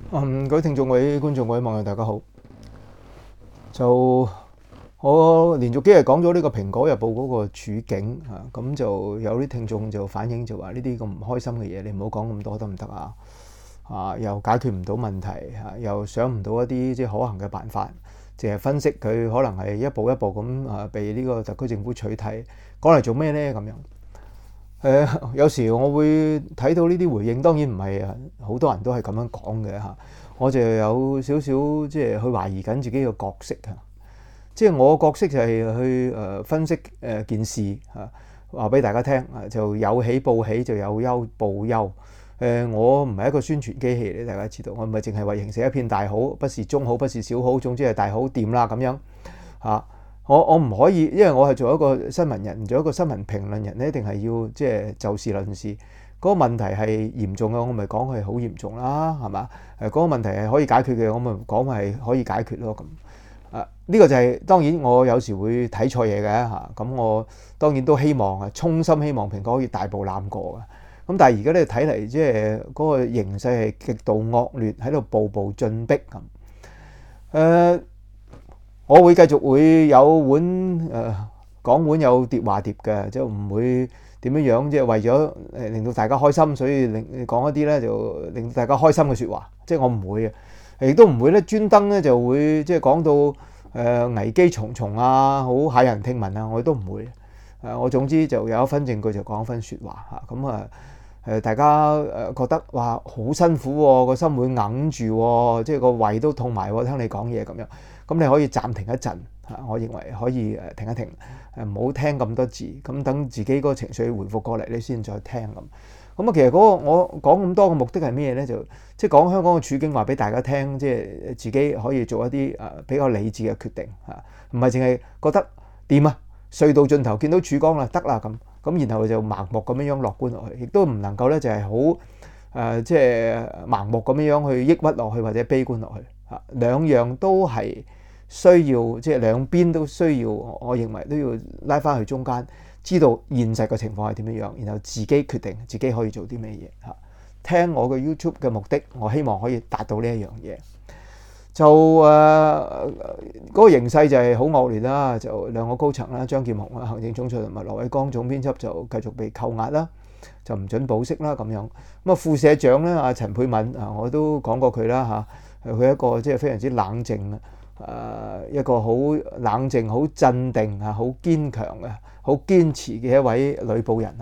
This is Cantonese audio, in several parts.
各位聽眾、各位觀眾、各位網友，大家好。就我連續幾日講咗呢個《蘋果日報》嗰個處境啊，咁就有啲聽眾就反映就話呢啲咁唔開心嘅嘢，你唔好講咁多得唔得啊？又解決唔到問題，又想唔到一啲即係可行嘅辦法，淨係分析佢可能係一步一步咁被呢個特區政府取締，講嚟做咩呢？咁樣。有時我會睇到呢啲回應，當然唔係好多人都係咁樣講嘅嚇。我就有少少即係去懷疑緊自己嘅角色嚇。即係我角色就係去分析件事嚇，話俾大家聽就有喜報喜，就有憂報憂。我唔係一個宣傳機器嚟，大家知道，我唔係淨係為形成一片大好，不是中好，不是小好，總之係大好掂啦咁樣嚇。我唔可以，因為我係做一個新聞人，做一個新聞評論人咧，一定係要即係就事論事。嗰個問題係嚴重嘅，我咪講係好嚴重啦，係嘛？嗰個問題係可以解決嘅，我咪講係可以解決咯。咁呢個就係當然我有時會睇錯嘢嘅嚇。咁我當然都希望衷心希望蘋果可以大步攬過嘅。咁但係而家咧睇嚟，即係嗰個形勢係極度惡劣，喺度步步進逼咁。我會繼續會有碗講碗有碟話碟嘅，即係唔會點樣即係為咗令到大家開心，所以講一啲咧就令到大家開心嘅説話，即係我唔會嘅，亦都唔會咧專登咧就會即係講到危機重重啊，好駭人聽聞啊，我都唔會。我總之就有一分證據就講一分説話嚇，咁大家覺得哇好辛苦喎，個心會硬住喎，即係個胃都痛埋喎，聽你講嘢咁樣。咁你可以暫停一陣嚇，我認為可以停一停，唔好聽咁多字，咁等自己嗰個情緒回復過嚟，你先再聽咁。咁其實嗰個我講咁多嘅目的係咩咧？就即係講香港嘅處境，話俾大家聽，即係自己可以做一啲比較理智嘅決定嚇，唔係淨係覺得掂啊，隧道盡頭見到曙光啦，得啦咁，然後就盲目咁樣樂觀落去，亦都唔能夠咧就係好即係盲目咁樣去抑鬱落去或者悲觀落去嚇，兩樣都係需要，即係兩邊都需要，我認為都要拉翻去中間，知道現實嘅情況係點樣，然後自己決定自己可以做啲咩嘢嚇。聽我嘅 YouTube 嘅目的，我希望可以達到呢一樣嘢。就嗰個形勢就係好惡劣啦，就兩個高層啦，張劍虹啦，行政總裁同埋羅偉光總編輯就繼續被扣押啦，就唔准保釋啦咁樣。咁副社長咧，阿陳沛敏我都講過佢啦嚇，佢一個即係非常之冷靜一個好冷靜、好鎮定好堅強嘅、好堅持嘅一位女報人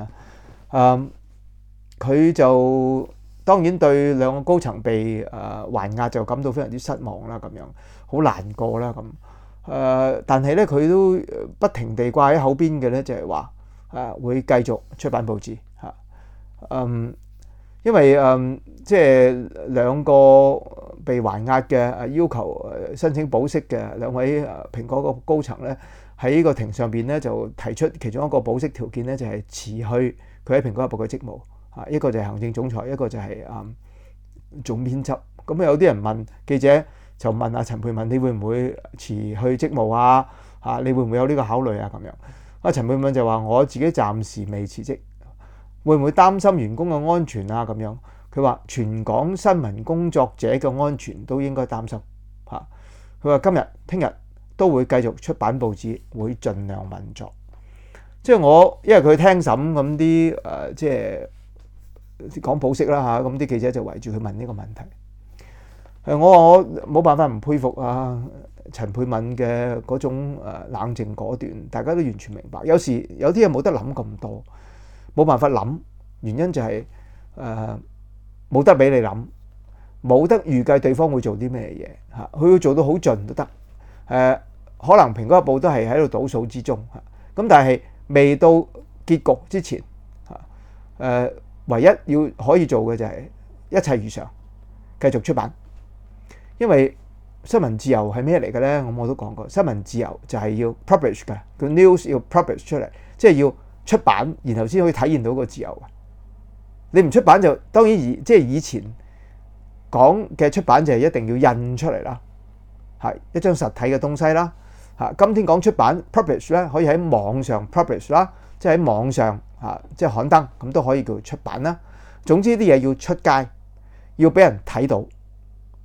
佢就當然對兩個高層被還押就感到非常之失望啦，咁樣好難過啦咁。但係咧佢都不停地掛喺口邊嘅咧，就係話會繼續出版報紙嚇。因為即係兩個被還押嘅要求申請保釋嘅兩位蘋果個高層咧，喺呢個庭上邊咧就提出其中一個保釋條件咧，就係辭去佢喺蘋果日報嘅職務嚇，一個就係行政總裁，一個就係總編輯。咁有啲人問記者就問阿陳沛敏，你會唔會辭去職務啊？嚇，你會唔會有呢個考慮啊？咁樣阿陳沛敏就話：我自己暫時未辭職。會唔會擔心員工嘅安全啊？咁樣佢話全港新聞工作者嘅安全都應該擔心嚇。佢話今日、聽日都會繼續出版報紙，會盡量運作。即係我因為佢聽審咁啲即係講保釋啦嚇，咁啲記者就圍住佢問呢個問題。我話我冇辦法唔佩服陳沛敏嘅嗰種冷靜果斷，大家都完全明白。有時有啲嘢冇得諗咁多。冇辦法諗，原因就係冇得俾你諗，冇得預計對方會做啲咩嘢嚇，佢會做到好盡都得。可能蘋果日報都係喺度倒數之中嚇，咁但係未到結局之前嚇，唯一要可以做嘅就係一切如常，繼續出版。因為新聞自由係咩嚟嘅咧？我都講過，新聞自由就係要 publish 嘅，個 news 要 publish 出嚟，即係要出版，然後先可以體現到個自由。你唔出版就當然即係以前講嘅出版就係一定要印出嚟啦，係一張實體嘅東西啦。今天講出版 publish 咧，可以喺網上 publish 啦，即係喺網上即係刊登，咁都可以叫出版啦。總之啲嘢要出街，要俾人睇到，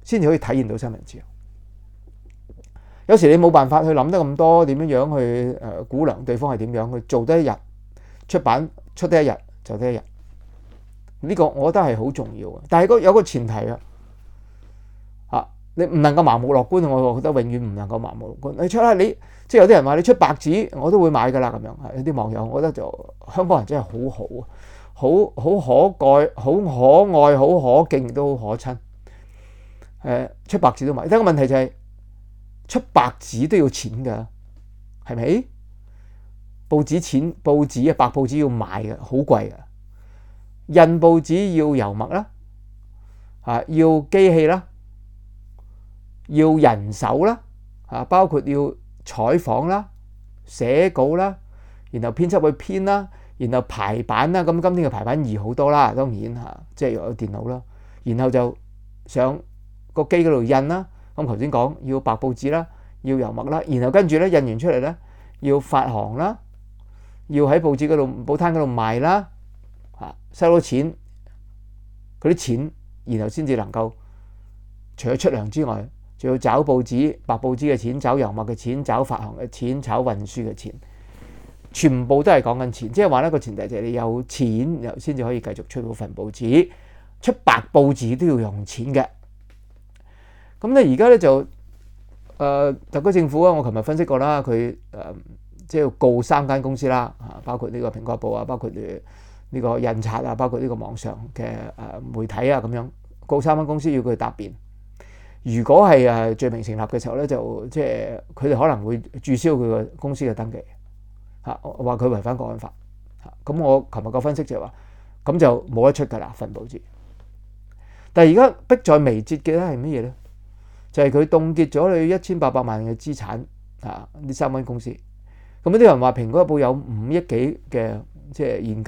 先至可以體現到新聞自由。有時你冇辦法去諗得咁多，點樣去估量對方係點樣，去做得一日出版出得一日就得一日。呢個我覺得係好重要嘅，但係有個前提啊，你唔能夠盲目樂觀。我覺得永遠唔能夠盲目樂觀。你出啦，你即係有啲人話你出白紙，我都會買㗎啦咁樣。有啲網友，我覺得就香港人真係好好啊，好可貴、好可愛、好可敬，都好可親。出白紙都買，但係個問題就係出白紙都要錢㗎，係咪？報紙啊，白報紙要買嘅，好貴㗎。印報紙要油墨啦，要機器啦，要人手啦，包括要採訪啦、寫稿啦，然後編輯去編啦，然後排版啦。咁今天嘅排版易好多啦，當然即係有電腦啦，然後就上個機嗰度印啦。咁頭先講要白報紙啦，要油墨啦，然後跟住咧印完出嚟咧要發行啦，要喺報紙嗰度報攤嗰度賣啦。收到錢，嗰啲錢，然後先至能夠除咗出糧之外，仲要找報紙、白報紙嘅錢，找油墨嘅錢，找發行嘅錢，找運輸嘅錢，全部都係講緊錢。即係話呢個前提就係你有錢，然後先至可以繼續出到份報紙。出白報紙都要用錢嘅。咁咧而家咧就特區政府啊，我琴日分析過啦，佢即係要告3間公司啦，包括呢個蘋果日報啊，包括呢個印刷啊，包括呢個網上嘅媒體啊，咁樣告3間公司要佢答辯。如果係罪名成立嘅時候咧，就即係佢哋可能會註銷佢個公司嘅登記，話佢違反國安法。咁我琴日個分析就係話，咁就冇得出㗎啦份報紙。但係而家迫在眉睫嘅咧係乜嘢咧？就係佢凍結咗你1800萬嘅資產呢3間公司。咁有啲人話蘋果日報有5億幾嘅即係現金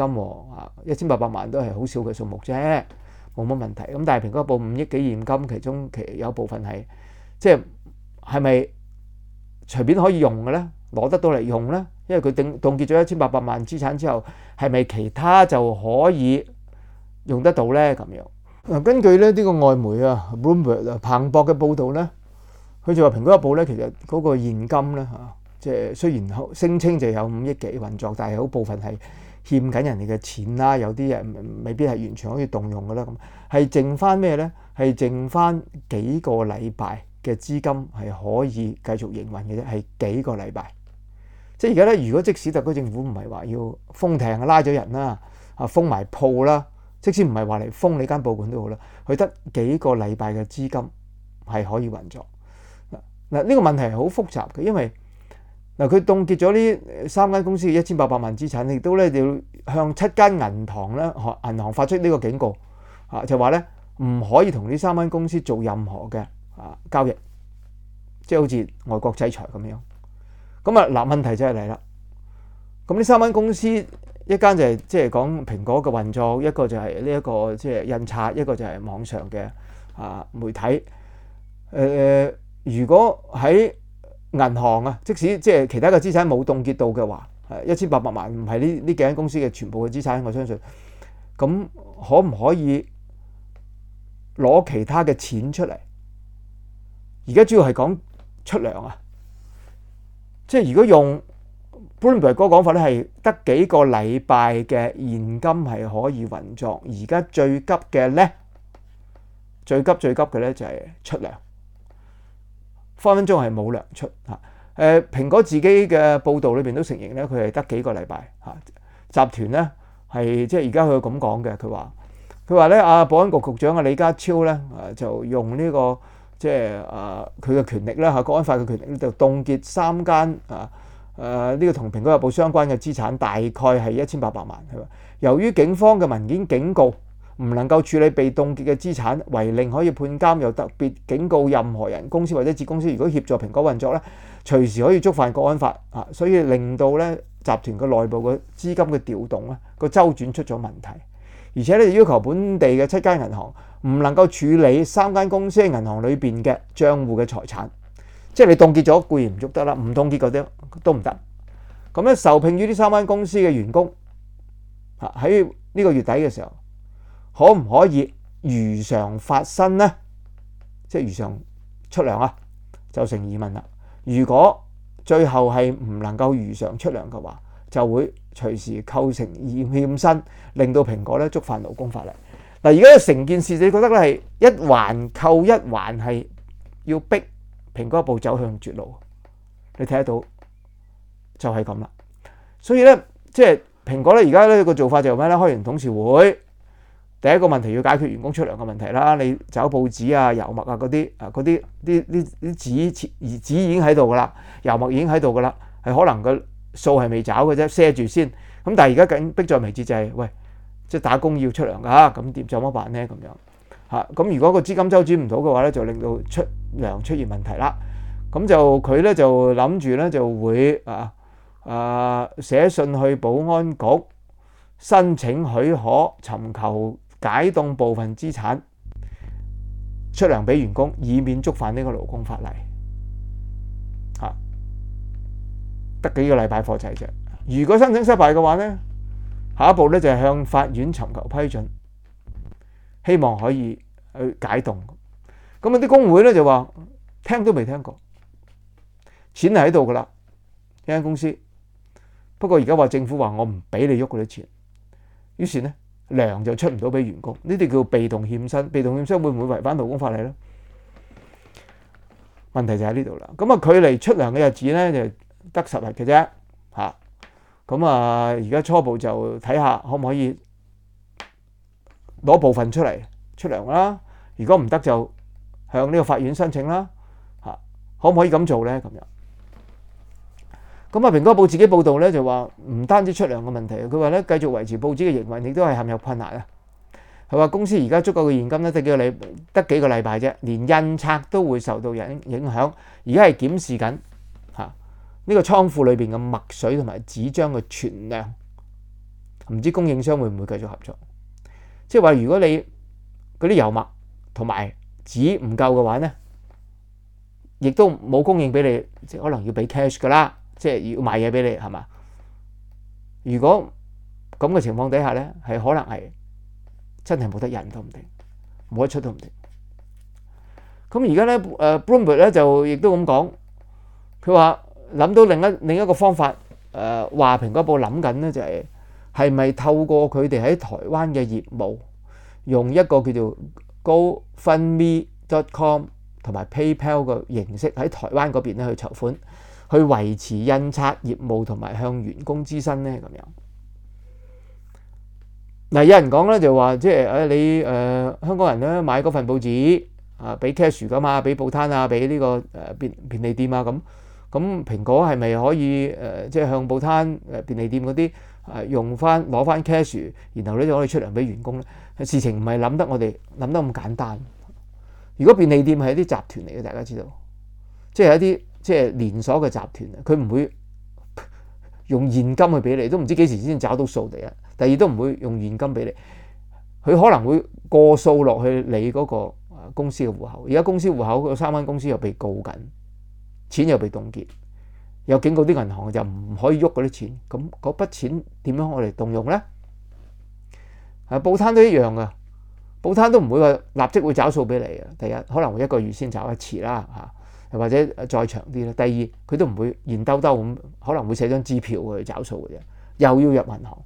，1800萬都係好少嘅數目啫，冇乜問題。咁但係蘋果日報5億幾現金，其中有部分係即係咪隨便可以用嘅咧？攞得到嚟用咧？因為佢凍結咗1800萬資產之後，係咪其他就可以用得到咧？咁樣根據咧呢個外媒Bloomberg 彭博嘅報導咧，佢就話蘋果日報咧其實嗰個現金咧即係雖然聲稱就有5億幾運作，但係好部分係欠緊人哋嘅錢啦，有啲人未必係完全可以動用嘅啦。咁係剩翻咩咧？係剩翻幾個禮拜嘅資金係可以繼續營運嘅啫，係幾個禮拜。即係而家咧，如果即使特區政府唔係話要封艇拉咗人啦，封埋鋪啦，即使唔係話嚟封你間報館都好啦，佢得幾個禮拜嘅資金係可以運作。嗱，呢個問題係好複雜嘅，因為嗱，佢凍結咗呢3間公司嘅1800萬資產，亦都咧要向7間銀行咧，銀行發出呢個警告，就話咧唔可以同呢3間公司做任何嘅交易，即係好似外國制裁咁樣。咁問題就係嚟啦。咁呢3間公司，一間就係即係講蘋果嘅運作，一個就係呢一個即係印刷，一個就係網上嘅媒體。如果喺銀行即使即係其他嘅資產冇凍結到嘅話，1800萬唔係呢幾間公司嘅全部嘅資產，我相信咁可唔可以攞其他嘅錢出嚟？而家主要係講出糧啊！即係如果用 Bloomberg 嗰個講法咧，係得幾個禮拜嘅現金係可以運作。而家最急嘅咧，最急嘅咧就係出糧，分分鐘係冇糧出嚇。蘋果自己嘅報導裏邊都承認咧，佢係得幾個禮拜嚇。集團咧係即係而家佢咁講嘅，佢話咧保安局局長李家超咧就用呢個即係佢嘅權力啦國安法嘅權力咧，就凍結3間呢個同蘋果日報相關嘅資產，大概係1800萬。係嘛？由於警方嘅文件警告唔能夠處理被凍結嘅資產，違令可以判監，又特別警告任何人、公司或者子公司，如果協助蘋果運作咧，隨時可以觸犯國安法所以令到咧集團嘅內部嘅資金嘅調動咧個周轉出咗問題，而且咧要求本地嘅7間銀行唔能夠處理3間公司喺銀行裏邊嘅帳戶嘅財產，即係你凍結咗固然唔喐得啦，唔凍結嗰啲都唔得。咁咧受聘於呢3間公司嘅員工喺呢個月底嘅時候，可唔可以如常發薪呢？ 即係如常出糧啊，就成疑問啦。如果最後係唔能夠如常出糧嘅話，就會隨時構成欠薪，令到蘋果咧觸犯勞工法例。嗱，而家成件事你覺得咧係一環扣一環，係要逼蘋果日報走向絕路，你睇得到就係咁啦。所以咧，即係蘋果咧而家咧個做法就係咩咧？開完董事會，第一個問題要解決員工出糧嘅問題啦。你找報紙啊、油墨啊嗰啲啲紙已經喺度噶啦，油墨已經喺度噶啦，係可能個數係未找嘅啫，賒住先。咁但係而家緊迫在眉睫就係喂。即係打工要出糧㗎，咁點就乜辦呢？咁樣嚇，咁如果個資金周轉唔到嘅話咧，就令到出糧出現問題啦。咁就佢咧就諗住咧就會寫信去保安局申請許可，尋求解凍部分資產出糧俾員工，以免觸犯呢個勞工法例。嚇，得幾個禮拜課仔啫。如果申請失敗嘅話咧，下一步咧就係向法院尋求批准，希望可以去解凍。咁啲工會咧就話聽都未聽過，錢係喺度噶啦，一間公司。不過而家話政府話我唔俾你喐嗰啲錢，於是咧糧就出唔到俾員工，呢啲叫被動欠薪。被動欠薪會唔會違反勞工法例咧？問題就喺呢度啦。咁啊，距離出糧嘅日子咧就得10日嘅啫，嚇。咁而家初步就睇下可唔可以攞部分出嚟出糧啦。如果唔得就向呢個法院申請啦。嚇，可唔可以咁做咧？咁樣。咁蘋果報自己報導咧就話唔單止出糧嘅問題，佢話咧繼續維持報紙嘅營運亦都係陷入困難啊。佢話公司而家足夠嘅現金咧得幾個禮拜啫，連印刷都會受到影響。而家係檢視緊呢個倉庫裏邊嘅墨水同埋紙張嘅存量，唔知供應商會唔會繼續合作？即係話如果你嗰啲油墨同埋紙唔夠嘅話咧，亦都冇供應俾你，即係可能要俾 cash 噶啦，即係要買嘢俾你係嘛？如果咁嘅情況底下咧，係可能係真係冇得印都唔定，冇得出都唔定。咁而家咧Bloomberg 咧就亦都咁講，佢話諗到另一個方法，話蘋果報諗緊咧就係咪透過佢哋喺台灣嘅業務，用一個叫做 GoFundMe.com 同埋 PayPal 嘅形式喺台灣嗰邊咧去籌款，去維持印刷業務同埋向員工支薪咧咁樣。嗱，有人講咧就話即係你香港人咧買嗰份報紙俾 cash 噶嘛，俾報攤啊，俾呢個便利店啊咁。咁蘋果係咪可以即係向報攤便利店嗰啲攞翻 cash， 然後咧就可以出糧俾員工咧？事情唔係我哋諗得咁簡單。如果便利店係一啲集團嚟嘅，大家知道，即係一啲即係連鎖嘅集團，佢唔會用現金去俾你，都唔知幾時先找到數嚟啊。第二都唔會用現金俾你，佢可能會過數落去你嗰個公司嘅戶口。而家公司戶口嗰3間公司又被告緊。錢又被凍結，又警告啲銀行就唔可以喐嗰啲錢，咁嗰筆錢點樣我哋動用咧？報攤都一樣噶，報攤都唔會話立即會找數俾你啊。第一可能會1個月先找一次啦，又或者再長啲啦。第二佢都唔會現兜兜咁，可能會寫張支票去找數嘅啫，又要入銀行，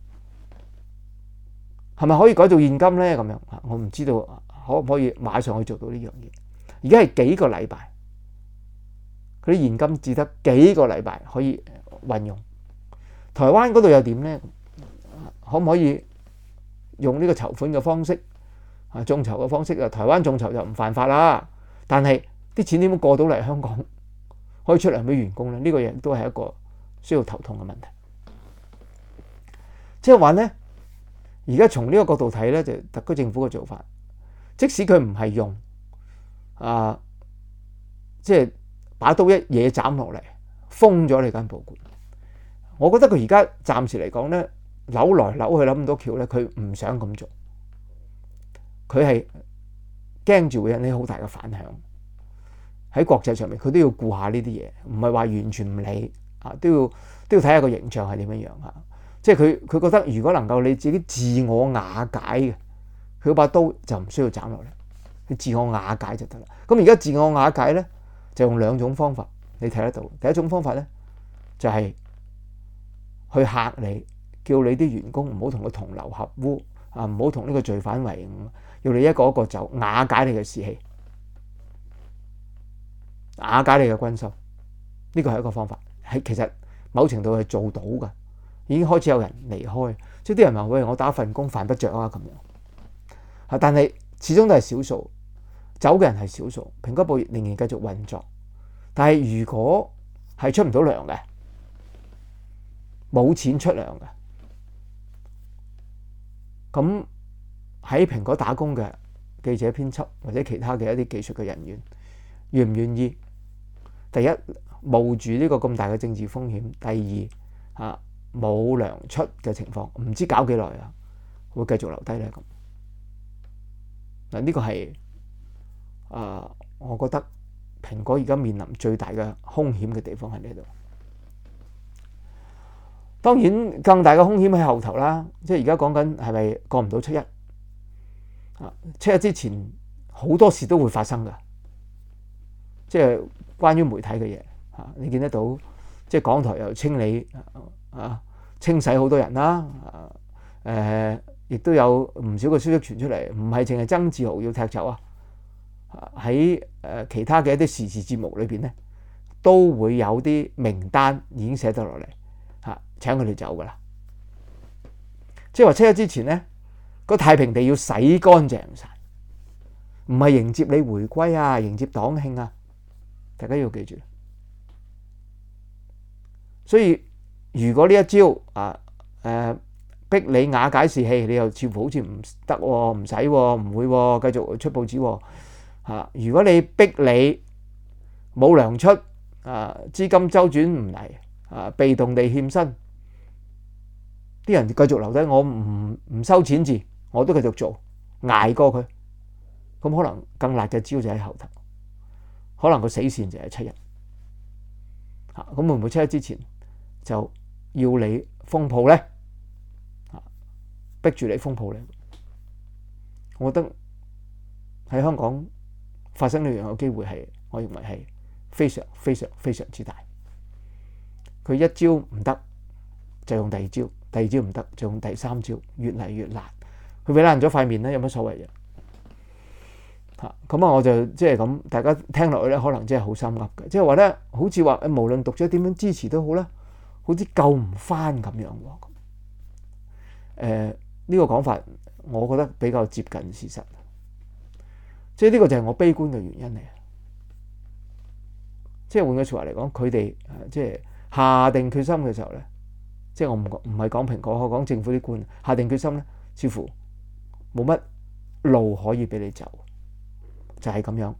係咪可以改做現金咧？咁樣我唔知道可唔可以馬上去做到呢樣嘢。而家係幾個禮拜。嗰啲現金只得幾個禮拜可以運用，台灣嗰度又點呢？可唔可以用呢個籌款嘅方式眾籌嘅方式啊？台灣眾籌就唔犯法啦，但係啲錢點樣過到嚟香港可以出糧俾員工呢？呢個嘢都係一個需要頭痛嘅問題。即係話呢，而家從呢個角度睇呢，就特區政府嘅做法，即使佢唔係用即係把刀一嘢斬落嚟，封咗你間報館。我覺得佢而家暫時嚟講咧，扭來扭去諗咁多橋咧，佢唔想咁做。佢係驚住會引起好大嘅反響。喺國際上面，佢都要顧下呢啲嘢，唔係話完全唔理啊，都要睇下個形象係點樣嚇。即係佢覺得，如果能夠你自己自我瓦解嘅，佢把刀就唔需要斬落嚟。 去自我瓦解就得啦。咁而家自我瓦解咧，就用兩種方法，你睇得到。第一種方法咧，就係去嚇你，叫你啲員工唔好同佢同流合污啊，唔好同呢個罪犯為伍，要你一個一個就瓦解你嘅士氣，瓦解你嘅軍心。呢個係一個方法，係其實某程度係做到㗎，已經開始有人離開。即係啲人話：喂，我打份工犯不着啊咁樣。但係始終都係少數，走嘅人係少數，蘋果報業仍然繼續運作。但係如果係出唔到糧嘅，冇錢出糧嘅，咁喺蘋果打工嘅記者、編輯或者其他嘅一啲技術嘅人員，願唔願意？第一，冒住呢個咁大嘅政治風險；第二，冇糧出嘅情況，唔知搞幾耐啊，會繼續留低咧咁。嗱，呢個係我覺得蘋果而家面臨最大嘅風險嘅地方喺呢度。當然，更大嘅風險喺後頭啦。即係而家講緊係咪過唔到7·1？7·1之前好多事都會發生㗎。即係關於媒體嘅嘢，你見得到，即係港台又清理清洗好多人啦。亦都有唔少嘅消息傳出嚟，唔係淨係曾志豪要踢走啊。喺其他嘅一啲時事節目裏邊咧，都會有啲名單已經寫得落嚟，請佢哋走噶啦。即係話7·1之前咧，個太平地要洗乾淨晒，唔係迎接你回歸啊，迎接黨慶啊，大家要記住。所以如果呢一招逼你瓦解士氣，你又似乎好似唔得喎，唔使喎，唔會喎，繼續出報紙喎。如果你逼你冇糧出，資金周轉唔嚟，被動地欠薪，啲人繼續留低，我唔收錢字，我都繼續做，捱過佢。咁可能更辣嘅招就喺後頭，可能個死線就係7·1。咁會唔會7·1之前就要你封鋪咧？逼住你封鋪咧？我覺得喺香港發生呢樣嘅機會係，我認為係非常非常非常之大。佢一招唔得就用第二招，第二招唔得就用第三招，越嚟越辣。佢俾爛咗塊面咧，有乜所謂嘅？咁我就即係咁，大家聽落去咧，可能真係好心噏嘅，即係話咧，好似話無論讀者點樣支持都好啦，好似救唔翻咁樣喎。呢個講法，我覺得比較接近事實。即係呢個就係我悲觀嘅原因嚟。即係換句説話嚟講，佢哋即係下定決心嘅時候咧，即係我唔係講蘋果，我講政府啲官下定決心咧，似乎冇乜路可以俾你走，就係咁樣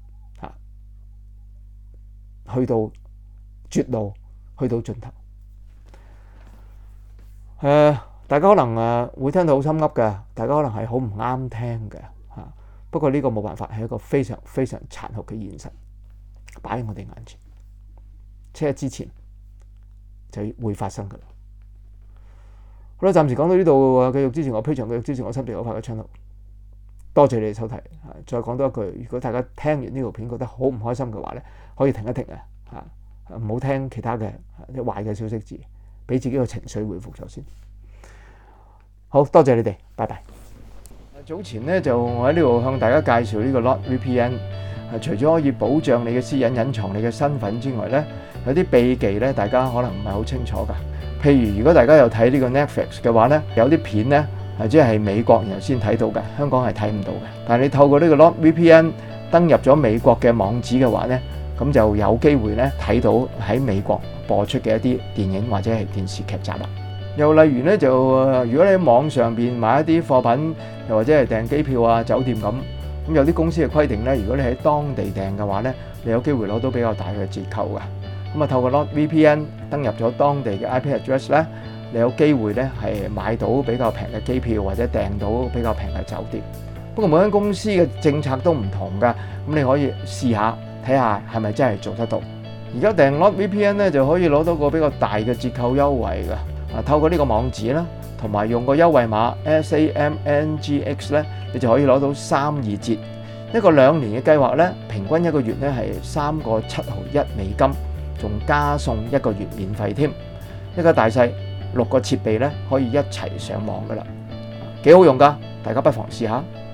去到絕路，去到盡頭。大家可能會聽到好心噏嘅，大家可能係好唔啱聽嘅嚇。不過呢個冇辦法，係一個非常非常殘酷嘅現實，擺喺我哋眼前。7·1之前就會發生㗎啦。好啦，暫時講到呢度，繼續支持我Patreon，繼續支持我心地可怕嘅 channel。多謝你哋收睇。再講多一句，如果大家聽完呢條片覺得好唔開心嘅話咧，可以停一停唔好聽其他嘅啲壞嘅消息字，俾自己個情緒回復咗先。好多謝你哋，拜拜。早前咧就我喺呢度向大家介紹呢個 NordVPN，除咗可以保障你嘅私隱、隱藏你嘅身份之外咧，有啲秘技咧，大家可能唔係好清楚㗎。譬如如果大家有睇呢個 Netflix 嘅話咧，有啲片咧即係美國然後先睇到嘅，香港係睇唔到嘅。但係你透過呢個 NordVPN 登入咗美國嘅網址嘅話咧，咁就有機會咧睇到喺美國播出嘅一啲電影或者係電視劇集啦。又例如咧，就如果你喺網上邊買一啲貨品，又或者係訂機票啊、酒店咁有啲公司嘅規定咧，如果你喺當地訂嘅話咧，你有機會攞到比較大嘅折扣㗎。咁透過 NordVPN 登入咗當地嘅 IP address 咧，你有機會咧係買到比較平嘅機票，或者訂到比較平嘅酒店。不過每間公司嘅政策都唔同㗎，咁你可以試下睇下係咪真係做得到。而家訂 NordVPN 咧就可以攞到個比較大嘅折扣優惠㗎。透過呢個網址啦，同埋用個優惠碼 SAMNGX 咧，你就可以攞到32折， 呢個2年嘅計劃咧，平均一個月咧係3個7毫1美金，仲加送1個月免費添。一家大細6個設備咧可以一齊上網噶啦，幾好用噶，大家不妨試下。